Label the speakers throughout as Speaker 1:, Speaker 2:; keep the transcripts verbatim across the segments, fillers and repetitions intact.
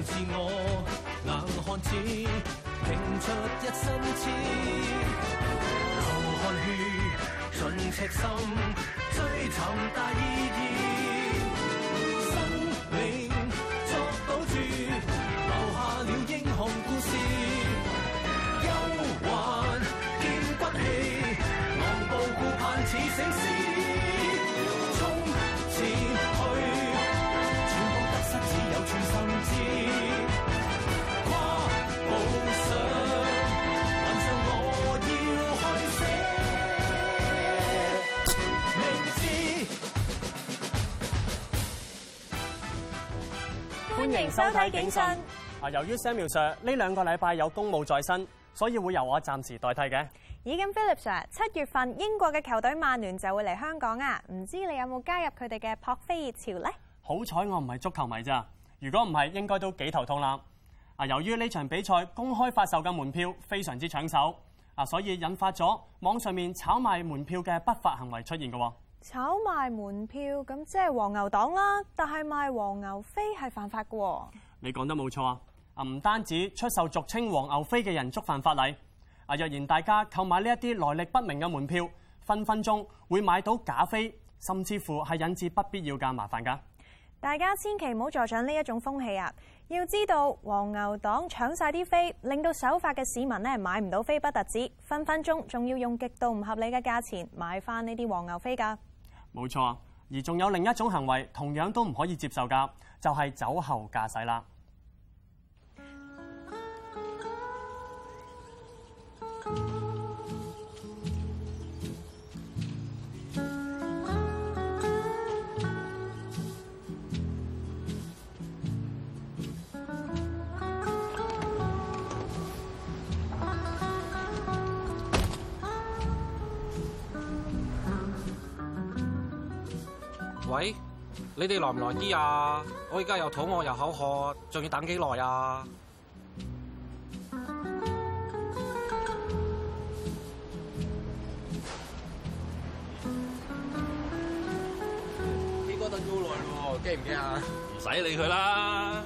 Speaker 1: 自我，硬漢子拼出一身刺，流汗血盡赤心，追尋大意義，生命作賭注，留下了英雄故事，憂患見骨氣，昂步顧盼似醒獅。
Speaker 2: 歡迎收睇警訊。
Speaker 3: 啊，由於 Samuel Sir 呢兩個禮拜有公務在身，所以會由我暫時代替嘅。
Speaker 2: 咦，咁 Philip Sir， 七月份英國嘅球隊曼聯就會嚟香港啊，唔知你有冇加入佢哋嘅撲飛熱潮呢？好
Speaker 3: 彩我唔係足球迷咋，如果唔係，應該都幾頭痛啦。啊，由於呢場比賽公開發售嘅門票非常之搶手，啊，所以引發咗網上面炒賣門票嘅不法行為出現嘅。
Speaker 2: 炒賣門票咁即係黃牛黨啦，但係賣黃牛飛係犯法嘅喎。
Speaker 3: 你講得冇錯啊！啊，唔單止出售俗稱黃牛飛嘅人觸犯法例，啊，若然大家購買呢一啲來歷不明嘅門票，分分鐘會買到假飛，甚至乎係引致不必要嘅麻煩㗎。
Speaker 2: 大家千祈唔好助長呢一種風氣啊！要知道黃牛黨搶晒啲飛，令到守法嘅市民咧買唔到飛不特止，分分鐘仲要用極度唔合理嘅價錢買翻呢啲黃牛飛㗎。
Speaker 3: 冇錯，而仲有另一種行為同樣都唔可以接受㗎，就係酒後駕駛啦。
Speaker 4: 喂，你哋來唔來啲啊？我而家又肚餓又口渴，仲要等幾耐啊？呢個等咗好耐喎，驚唔驚啊？
Speaker 5: 唔使理佢啦。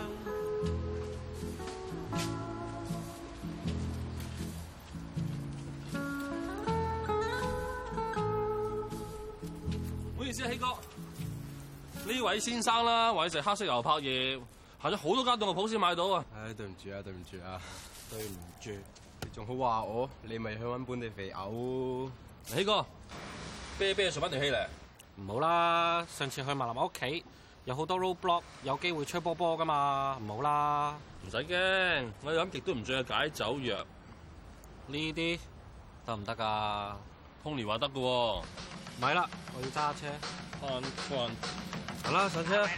Speaker 5: 唔好意思啊，希哥。呢位先生啦，話要食黑色牛柏葉，行咗好多間凍肉鋪先買到啊！
Speaker 6: 唉，對唔住啊，對唔住啊，對唔住，你仲好話我，你咪去揾本地肥牛。
Speaker 5: 希哥，啤啤做乜條氣嚟？
Speaker 4: 唔好啦，上次去麥林屋企有好多 roadblock， 有機會吹波波噶嘛，唔好啦。
Speaker 5: 唔使驚，我飲極都唔醉嘅解酒藥。
Speaker 4: 呢啲得唔得噶
Speaker 5: Tony 話得嘅喎。
Speaker 4: 咪啦，我要揸車。
Speaker 5: 翻翻。
Speaker 4: 好啦，上車。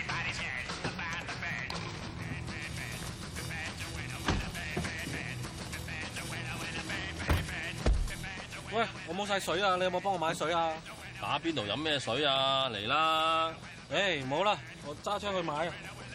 Speaker 4: 喂，我冇晒水啊！你有冇幫我買水啊？
Speaker 5: 打邊爐飲咩水啊？嚟啦！
Speaker 4: 誒，唔好啦，我揸車去買啊！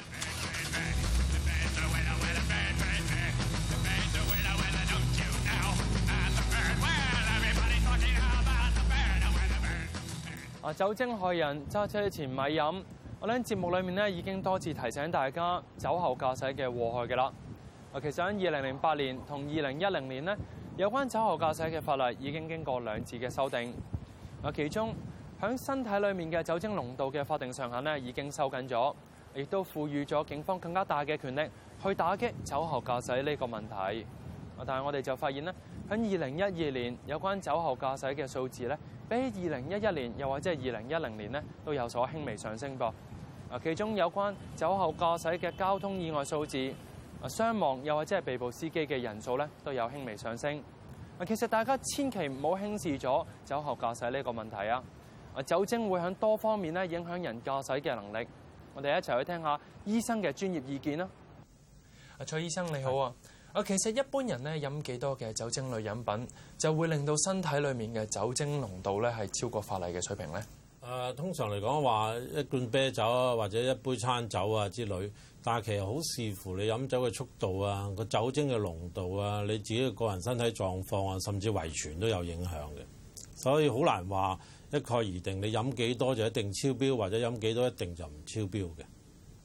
Speaker 3: 啊！酒精害人，揸車前咪飲。我喺節目裏面咧已經多次提醒大家酒後駕駛嘅禍害嘅啦。啊，其實喺二零零八年同二零一零年呢，有關酒後駕駛嘅法例已經經過兩次嘅修訂。啊，其中喺身體裏面嘅酒精濃度嘅法定上限呢已經收緊咗，亦都賦予咗警方更加大嘅權力去打擊酒後駕駛呢個問題。啊，但係我哋就發現呢，喺二零一二年有關酒後駕駛嘅數字呢，比起二零一一年又或者係二零一零年呢，都有所輕微上升噃。啊，其中有關酒後駕駛嘅交通意外數字、啊傷亡又或者係被捕司機嘅人數咧，都有輕微上升。啊，其實大家千祈唔好輕視咗酒後駕駛呢個問題啊！啊，酒精會喺多方面咧影響人駕駛嘅能力。我哋一齊去聽下醫生嘅專業意見啦。啊，蔡醫生你好啊！啊，其實一般人咧飲幾多嘅酒精類飲品，就會令到身體裡面嘅酒精濃度咧係超過法例嘅水平咧。
Speaker 7: 誒、呃，通常嚟講話一罐啤酒啊，或者一杯餐酒啊之類，但係其實好視乎你飲酒嘅速度啊，個酒精嘅濃度啊，你自己嘅個人身體狀況啊，甚至遺傳都有影響嘅，所以好難話一概而定。你飲幾多就一定超標，或者飲幾多一定就唔超標嘅。
Speaker 3: 啊，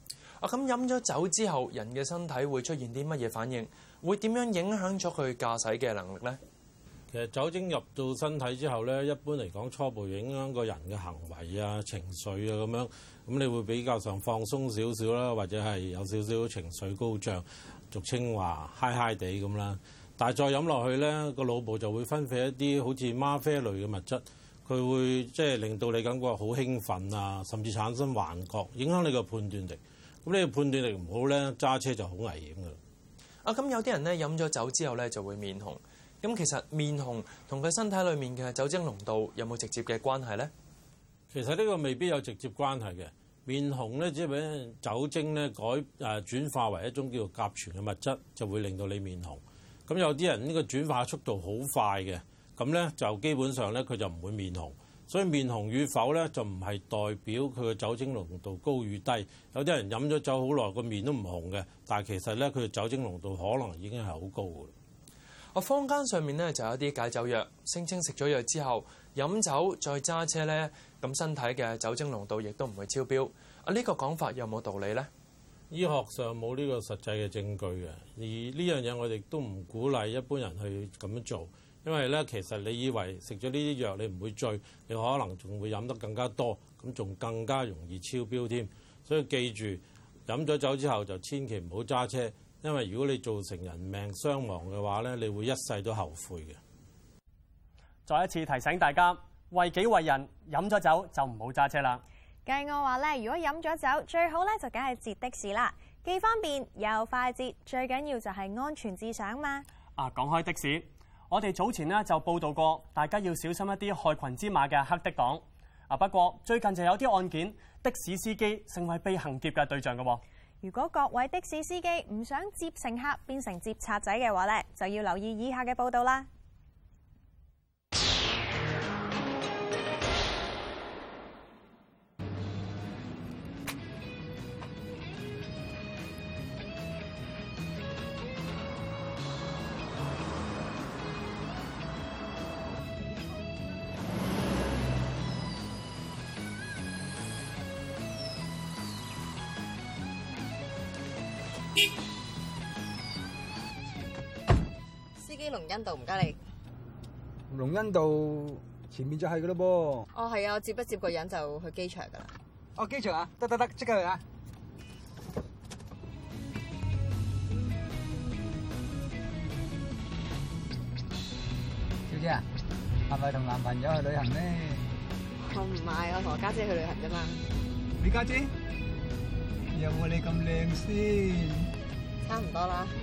Speaker 3: 啊，咁飲咗酒之後，人嘅身體會出現啲乜嘢反應？會點樣影響咗佢駕駛嘅能力咧？
Speaker 7: 其實酒精入到身體之後咧，一般嚟講初步影響個人嘅行為啊、情緒啊咁樣，咁你會比較上放鬆少少啦，或者係有少少情緒高漲，俗稱話嗨嗨地咁啦。但係再飲落去咧，個腦部就會分泌一啲好似嗎啡類嘅物質，佢會即係令到你感覺好興奮啊，甚至產生幻覺，影響你個判斷力。咁你個判斷力唔好咧，揸車就好危險㗎。
Speaker 3: 啊，咁有啲人咧飲咗酒之後咧就會面紅。咁其實面紅同佢身體裏面嘅酒精濃度有冇直接嘅關係咧？
Speaker 7: 其實呢個未必有直接關係嘅。面紅咧，只係俾酒精咧改誒轉化為一種叫做甲醛嘅物質，就會令到你面紅。咁有啲人呢個轉化速度好快嘅，咁咧就基本上咧佢就唔會面紅。所以面紅與否咧就唔係代表佢嘅酒精濃度高與低。有啲人飲咗酒好耐個面都唔紅嘅，但係其實咧佢嘅酒精濃度可能已經係好高嘅。
Speaker 3: 我坊間上面咧就有一啲解酒藥，聲稱食咗藥之後飲酒再揸車咧，咁身體嘅酒精濃度亦都唔會超標。啊，呢個講法有冇道理咧？
Speaker 7: 醫學上冇呢個實際嘅證據嘅，而呢樣嘢我哋都唔鼓勵一般人去咁樣做，因為咧其實你以為食咗呢啲藥你唔會醉，你可能仲會飲得更加多，咁仲更加容易超標添。所以記住飲咗酒之後就千祈唔好揸車。因為如果你造成人命傷亡嘅話咧，你會一世都後悔嘅。
Speaker 8: 再一次提醒大家，為己為人，飲咗酒就唔好揸車啦。
Speaker 2: 計我話咧，如果飲咗酒，最好咧就梗係截的士啦，既方便又快捷，最緊要就係安全至上嘛。
Speaker 8: 啊，講開的士，我哋早前呢就報道過，大家要小心一啲害群之馬嘅黑的黨。啊，不過最近就有啲案件，的士司機成為被行劫嘅對象嘅喎。
Speaker 2: 如果各位的士司機唔想接乘客變成接賊仔嘅話咧，就要留意以下嘅報道啦。
Speaker 9: 司機龍恩道，唔該你。
Speaker 10: 龍恩道前面就係噶咯噃。
Speaker 9: 哦，係啊，我接一接個人就去機場噶啦。
Speaker 10: 哦，機場啊，得得得，即刻去啊！小姐啊，係咪同男朋友去旅行呢？
Speaker 9: 我唔係，我同我家姐去旅行啫嘛。
Speaker 10: 你家姐有冇你咁靚先？
Speaker 9: 差唔多啦。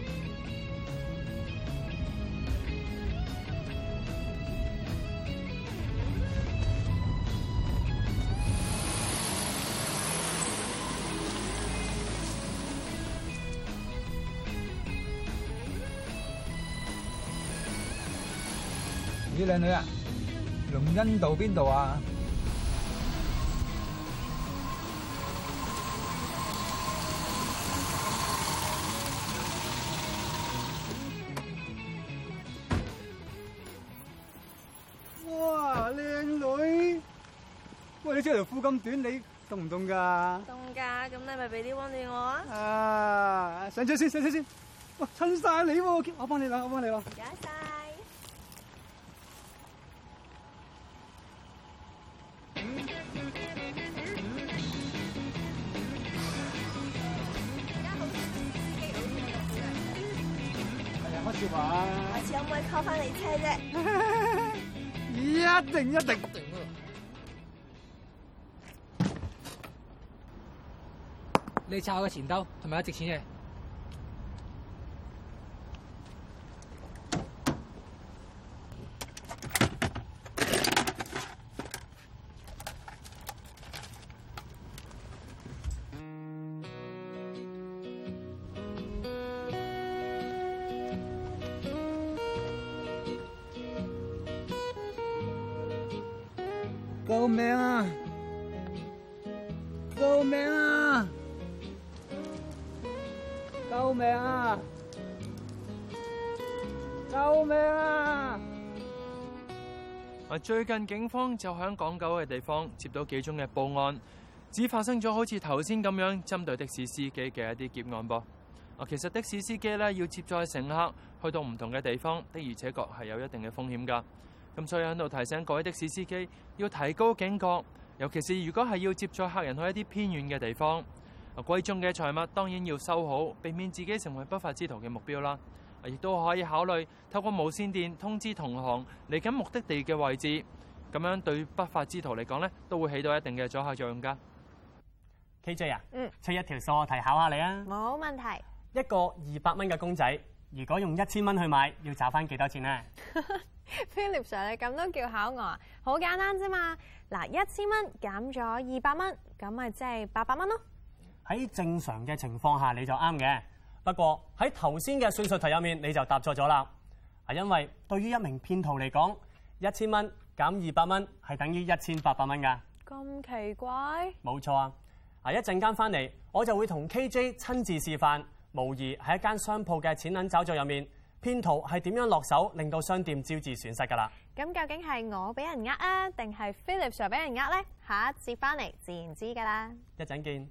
Speaker 10: 咦，靚女啊，龍恩道邊度啊？哇，靚女！喂，你着條褲咁短，你凍唔凍㗎？
Speaker 9: 凍㗎，咁你咪俾啲溫暖我啊！
Speaker 10: 啊，上車先，上車先。哇，襯晒你喎，我幫你啦，我幫你啦。
Speaker 9: 唔該晒。
Speaker 10: 開始玩，
Speaker 9: 下次可唔可以 call 翻你車啫？
Speaker 10: 一定一定。
Speaker 11: 你抄嘅錢兜係咪有值錢嘅？
Speaker 10: 救命啊！救命啊！救命啊！救命啊！
Speaker 3: 最近警方就響港九嘅地方接到幾宗嘅報案， 只發生咗好似頭先咁樣針對的士司機嘅一啲劫案噃。啊，其實的士司機咧要接載乘客去到唔同嘅地方，的而且確係有一定嘅風險㗎。咁所以喺度提醒各位的士司機要提高警覺，尤其是如果係要接載客人去一啲偏遠嘅地方。啊，貴重嘅財物當然要收好，避免自己成為不法之徒嘅目標啦。亦都可以考慮透過無線電通知同行嚟緊目的地嘅位置，咁樣對不法之徒嚟講咧，都會起到一定嘅阻嚇作用㗎。
Speaker 8: K J 啊，
Speaker 2: 嗯，
Speaker 8: 出一條數學題考下你啊。
Speaker 2: 冇問題。
Speaker 8: 一個二百蚊嘅公仔，如果用一千蚊去買，要找翻幾多錢呢？
Speaker 2: Philip Sir， 你咁都叫考我啊？好簡單啫嘛。嗱，一千蚊減咗二百蚊，咁咪即係八百蚊咯。
Speaker 8: 喺正常嘅情況下，你就啱嘅。不過喺頭先嘅算術題入面，你就答錯咗啦。係因為對於一名騙徒嚟講，一千蚊減二百蚊係等於一千八百蚊㗎。
Speaker 2: 咁奇怪？
Speaker 8: 冇錯啊！啊，一陣間翻嚟，我就會同 K J 親自示範，模擬喺一間商鋪嘅錢銀找續入面，騙徒係點樣落手，令到商店招致損失㗎啦。
Speaker 2: 咁究竟係我俾人呃啊，定係 Philip Sir 俾人呃呢？下一節翻嚟自然知㗎啦。
Speaker 8: 一陣見。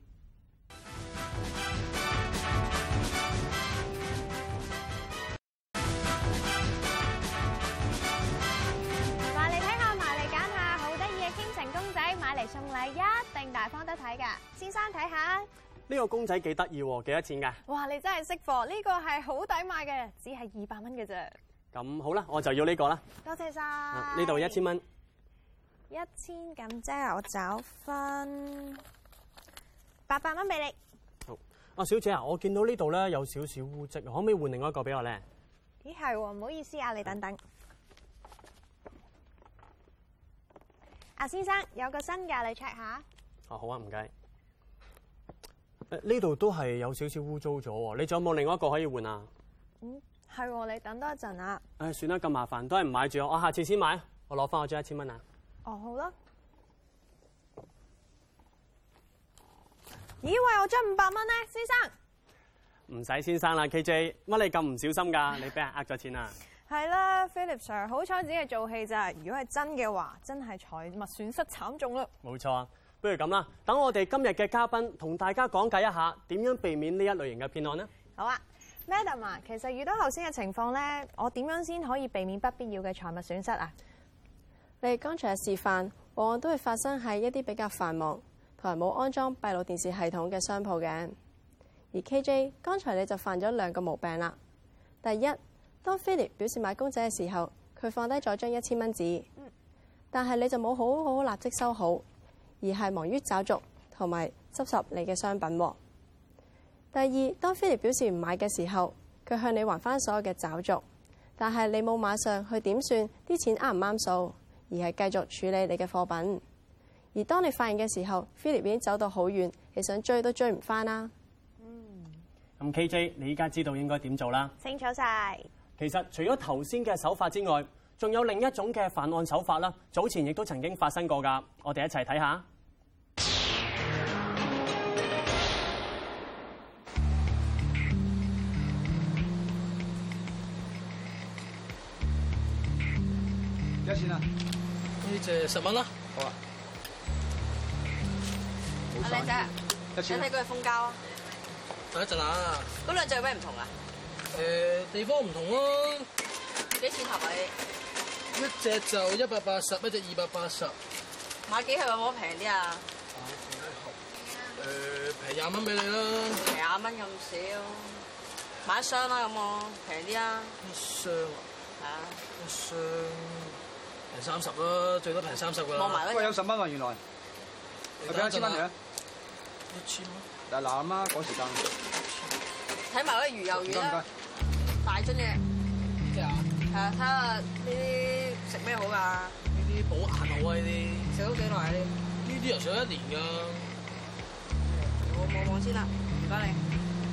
Speaker 2: 送禮一定大方得睇㗎，先生睇下
Speaker 8: 呢個公仔幾得意喎，幾多錢㗎？
Speaker 2: 哇！你真係識貨，呢個係好抵買嘅，只係二百蚊嘅啫。
Speaker 8: 咁好啦，我就要呢個啦。
Speaker 2: 多謝晒。
Speaker 8: 呢度一千蚊。
Speaker 2: 一千咁即係我找翻八百蚊俾你。
Speaker 8: 好，啊小姐啊，我見到呢度咧有少少污漬，可唔可以換另外一個俾我咧？
Speaker 2: 咦係喎，唔好意思啊，你等等。阿先生有個新㗎，你 check 下。
Speaker 8: 哦，好啊，唔該。呢度都係有少少污糟咗喎，你仲有冇另外一個可以換啊？
Speaker 2: 嗯，係喎，你等多一陣啊。
Speaker 8: 誒，算啦，咁麻煩，都係唔買住，我下次先買，我攞翻我張一千蚊啊。
Speaker 2: 哦，好啦。咦，喂，我張五百蚊咧，先生。
Speaker 8: 唔使先生啦 ，K J， 乜你咁唔小心㗎？你俾人呃咗錢啊？
Speaker 2: 係啦 ，Philip Sir， 好彩只係做戲咋，如果係真嘅話，真係財物損失慘重啦。
Speaker 8: 冇錯啊，不如咁啦，等我哋今日嘅嘉賓同大家講解一下點樣避免呢一類型嘅騙案呢？
Speaker 2: 好啊 ，Madam 啊，其實遇到頭先嘅情況咧，我點樣先可以避免不必要嘅財物損失啊？
Speaker 9: 你哋剛才嘅示範，往往都會發生喺一啲比較繁忙同埋冇安裝閉路電視系統嘅商鋪嘅。而 K J， 剛才你就犯咗兩個毛病啦。第一，當 Philip 表示買公仔嘅時候，佢放低咗張一千蚊紙，但係你就冇好好立即收好，而係忙於找續同埋執拾你嘅商品。第二，當 Philip 表示唔買嘅時候，佢向你還翻所有嘅找續，但係你冇馬上去點算啲錢啱唔啱數，而係繼續處理你嘅貨品。而當你發現嘅時候 ，Philip 已經走到好遠，你想追都追唔翻啦。
Speaker 8: 嗯，咁 K J， 你依家知道應該點做啦？
Speaker 2: 清楚晒。
Speaker 8: 其實除咗頭先嘅手法之外，仲有另一種嘅犯案手法啦。早前亦都曾經發生過㗎，我哋一齊睇下。
Speaker 10: 幾多錢啊？
Speaker 5: 呢隻十蚊啦。好啊。
Speaker 9: 阿靚仔，
Speaker 10: 一千。
Speaker 9: 你睇嗰隻蜂膠啊？
Speaker 5: 等一陣啊。
Speaker 9: 嗰兩隻有咩唔同啊？
Speaker 5: 誒、呃，地方唔同咯。
Speaker 9: 幾錢頭啊你？
Speaker 5: 一隻就一百八十，一隻二百八十。
Speaker 9: 買幾盒有冇平啲啊？
Speaker 5: 誒、呃，平廿蚊俾你啦。
Speaker 9: 平廿蚊咁少，買一箱啦咁我平啲啊。
Speaker 5: 一箱啊？
Speaker 9: 係啊。
Speaker 5: 一箱平三十啦，最多平三十噶啦。
Speaker 9: 望埋啦。
Speaker 10: 喂，有十蚊喎原來。我俾一千蚊你啊。
Speaker 5: 一千蚊。
Speaker 10: 嗱嗱阿媽趕時間。
Speaker 9: 睇埋嗰啲魚油丸啦，大樽嘅。
Speaker 5: 即係啊？
Speaker 9: 係啊，睇下呢啲食咩好㗎？
Speaker 5: 呢啲補眼好啊！呢啲
Speaker 9: 食咗幾耐啊？呢
Speaker 5: 呢啲又上一年㗎。
Speaker 9: 我望望先啦，唔該你。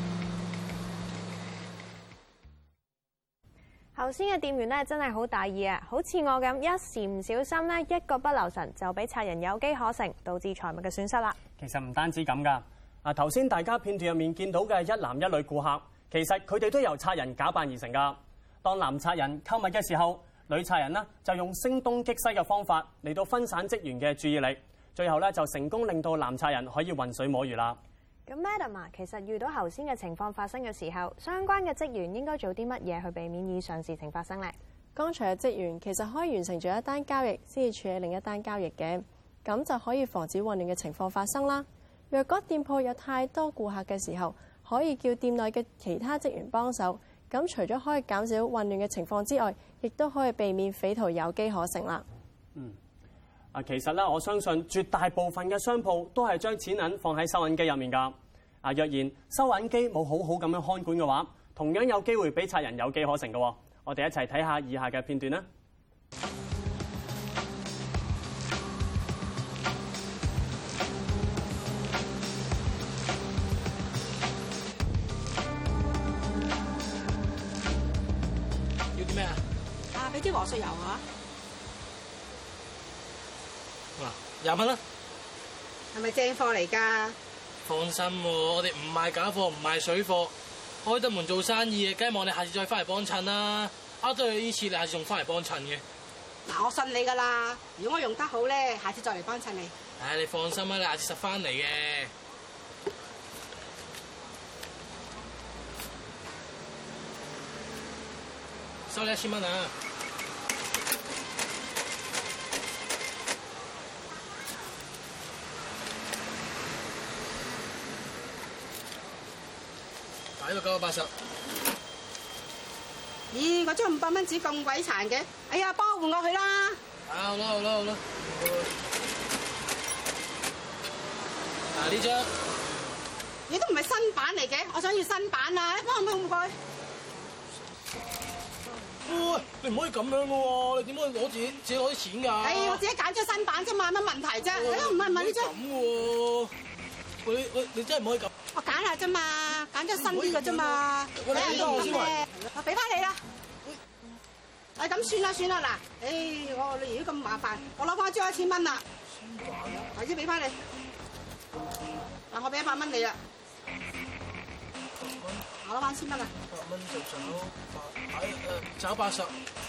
Speaker 2: 頭先嘅店員咧真係好大意啊！好似我咁一時唔小心咧，一個不留神就俾賊人有機可乘，導致財物嘅損失啦。
Speaker 8: 其實唔單止咁㗎。啊！頭先大家片段入面見到嘅一男一女顧客，其實佢哋都由賊人假扮而成㗎。當男賊人購物嘅時候，女賊人呢就用聲東擊西嘅方法嚟到分散職員嘅注意力， 最後咧就成功令到男賊人可以渾水摸魚啦。
Speaker 2: 咁 Madam 啊，其實遇到頭先嘅情況發生嘅時候，相關嘅職員應該做啲乜嘢去避免以上事情發生呢？
Speaker 9: 剛才嘅職員其實可以完成咗一單交易先至處理另一單交易嘅，咁就可以防止混亂嘅情況發生啦。若果店鋪有太多顧客嘅時候，可以叫店內嘅其他職員幫手，咁除咗可以減少混亂嘅情況之外，亦都可以避免匪徒有機可乘啦。
Speaker 8: 嗯。啊，其實咧，我相信絕大部分嘅商鋪都係將錢銀放喺收銀機入面㗎。啊，若然收銀機冇好好咁樣看管嘅話，同樣有機會俾賊人有機可乘嘅。我哋一齊睇下以下嘅片段啦。
Speaker 11: 要啲咩啊？
Speaker 12: 啊，俾啲和碎油啊！
Speaker 11: 嗱，廿蚊啦。
Speaker 12: 係咪正貨嚟㗎？
Speaker 11: 放心喎，我哋唔賣假貨，唔賣水貨，開得門做生意嘅，梗係望你下次再翻嚟幫襯啦。呃咗你呢次，你下次仲翻嚟幫襯嘅。
Speaker 12: 嗱，我信你㗎啦。如果我用得好咧，下次再嚟幫襯你。
Speaker 11: 唉，你放心啦，你下次實翻嚟嘅。收你一千蚊啊！呢個九百八十。
Speaker 12: 咦，嗰張五百蚊紙咁鬼殘嘅，哎呀，幫我換過去啦！
Speaker 11: 啊，好啦好啦好啦。嗱，呢張，
Speaker 12: 你都唔係新版嚟嘅，我想要新版啊！幫我換過去。
Speaker 11: 喂，你唔可以咁樣嘅喎，你點可以攞自己自己攞啲錢㗎？
Speaker 12: 哎，我自己揀咗新版啫嘛，乜問題啫？哎呀，唔係唔係呢張。
Speaker 11: 咁喎，喂喂，你真係唔可以咁。
Speaker 12: 我揀下啫嘛，揀咗新啲嘅啫嘛。
Speaker 11: 喂，你俾多我先喂。
Speaker 12: 我俾翻你啦。哎，咁算啦算啦嗱，哎，我你如果咁麻煩，我攞翻張一千蚊啦。頭先俾翻你。嗱，我俾一百蚊你啦。我攞翻千蚊啦。
Speaker 11: 百蚊就找八，哎誒，找八十。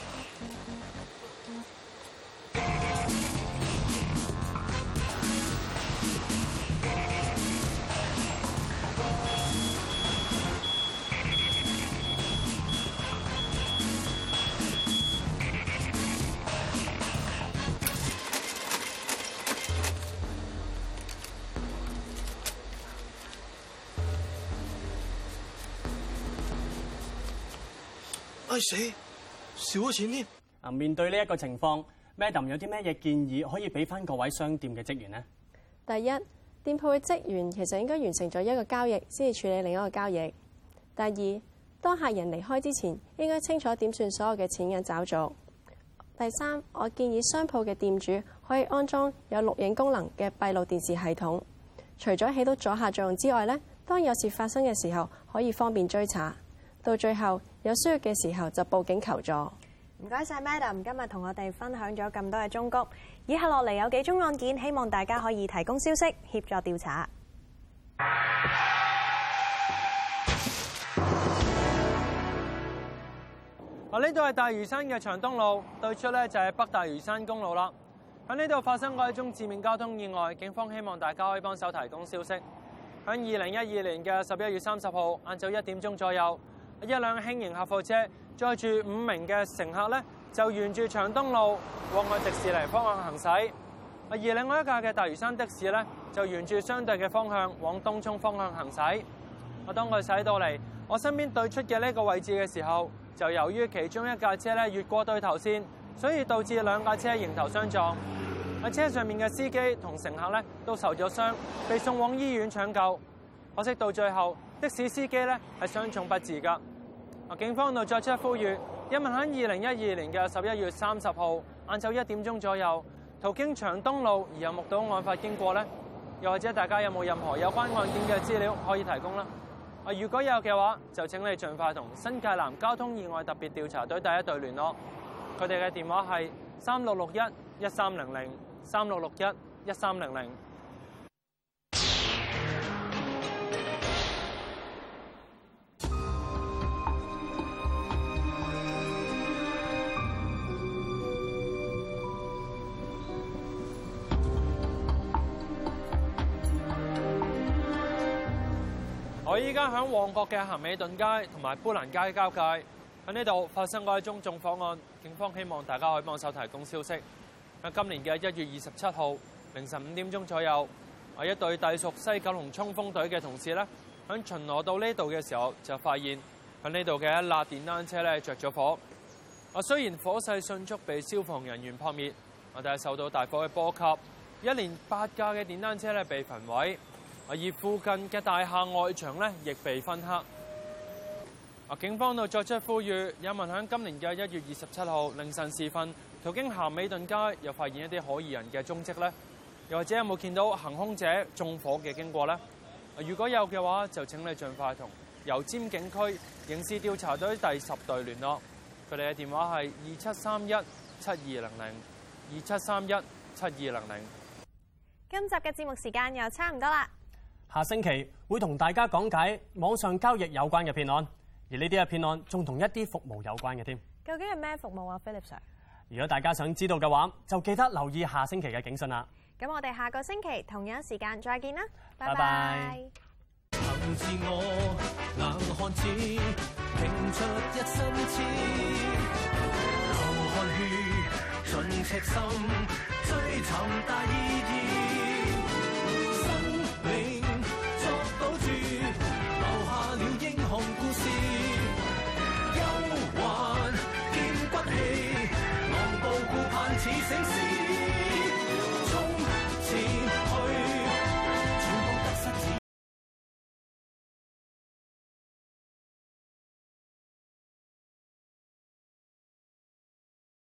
Speaker 11: 哎死，少咗錢添！
Speaker 8: 啊，面對呢一個情況 ，Madam 有啲咩嘢建議可以俾翻各位商店嘅職員呢？
Speaker 9: 第一，店鋪嘅職員其實應該完成咗一個交易先至處理另一個交易。第二，當客人離開之前，應該清楚點算所有嘅錢銀找續。第三，我建議商鋪嘅店主可以安裝有錄影功能嘅閉路電視系統，除咗起到阻嚇作用之外呢，當有事發生嘅時候，可以方便追查。到最後有需要嘅時候就報警求助。
Speaker 2: 唔該晒 Madam， 今日同我哋分享咗咁多嘅忠告。以下落嚟有幾宗案件，希望大家可以提供消息協助調查。
Speaker 3: 啊！呢度係大嶼山嘅長東路，對出咧就係北大嶼山公路啦。喺呢度發生過一宗致命交通意外，警方希望大家可以幫手提供消息。喺二零一二年嘅十一月三十號晏晝一點鐘左右，一輛輕型客貨車載住五名嘅乘客咧，就沿住長東路往去迪士尼方向行駛。而另外一架嘅大嶼山的士咧，就沿住相對嘅方向往東涌方向行駛。我當佢駛到嚟我身邊對出嘅呢個位置嘅時候，就由於其中一架車咧越過對頭線，所以導致兩架車迎頭相撞。喺車上面嘅司機同乘客咧都受咗傷，被送往醫院搶救。可惜到最後，的士司機咧係傷重不治㗎。警方度作出呼籲，有問喺二零一二年嘅十一月三十號晏晝一點鐘左右，途經長東路而有目睹案發經過呢？又或者大家有冇任何有關案件嘅資料可以提供啦？啊，如果有嘅話，就請你盡快同新界南交通意外特別調查隊第一隊聯絡。佢哋嘅電話係三六六一一三零零三六六一一三零零。 依家喺旺角嘅咸美頓街同埋砵蘭街交界，喺呢度發生過一宗縱火案，警方希望大家可以幫手提供消息。喺今年嘅一月二十七號凌晨五點鐘左右，啊一隊隸屬西九龍衝鋒隊嘅同事咧，喺巡邏到呢度嘅時候，就發現喺呢度嘅一輛電單車咧着咗火。啊雖然火勢迅速被消防人員撲滅，啊但係受到大火嘅波及，一連八架嘅電單車咧被焚毀，而附近嘅大廈外牆咧亦被燻黑。啊警方度作出呼籲，有民喺今年嘅一月二十七號凌晨時分途經咸美頓街，又發現一啲可疑人嘅蹤跡咧？又或者有冇見到行兇者縱火嘅經過呢？如果有嘅話，就請你盡快同油尖警區刑事調查隊第十隊聯絡，佢哋嘅電話係二七三一七二零零二七三一七二零零。
Speaker 2: 今集嘅節目時間又差唔多啦，
Speaker 8: 下星期會同大家講解網上交易有關嘅騙案，而呢啲嘅騙案仲同一啲服務有關嘅添。
Speaker 2: 究竟係咩服務啊 ，Philip Sir？
Speaker 8: 如果大家想知道嘅話，就記得留意下星期嘅警訊啦。
Speaker 2: 咁我哋下個星期同樣時間再見啦，拜
Speaker 8: 拜拜。
Speaker 1: 憑自我硬漢子，拼出一身刺，流汗血，盡赤心，追尋大意義。